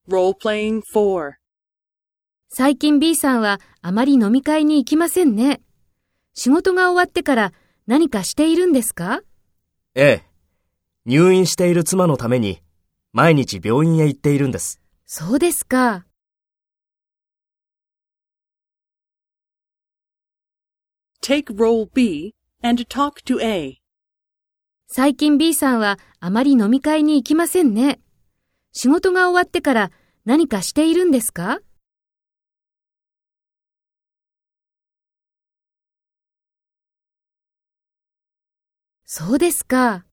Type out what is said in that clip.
最近 B さんはあまり飲み会に行きませんね。仕事が終わってから何かしているんですか？ ええ。入院している妻のために毎日病院へ行っているんです。 そうですか。 Take role B and talk to A. 最近 B さんはあまり飲み会に行きませんね。仕事が終わってから何かしているんですか？そうですか。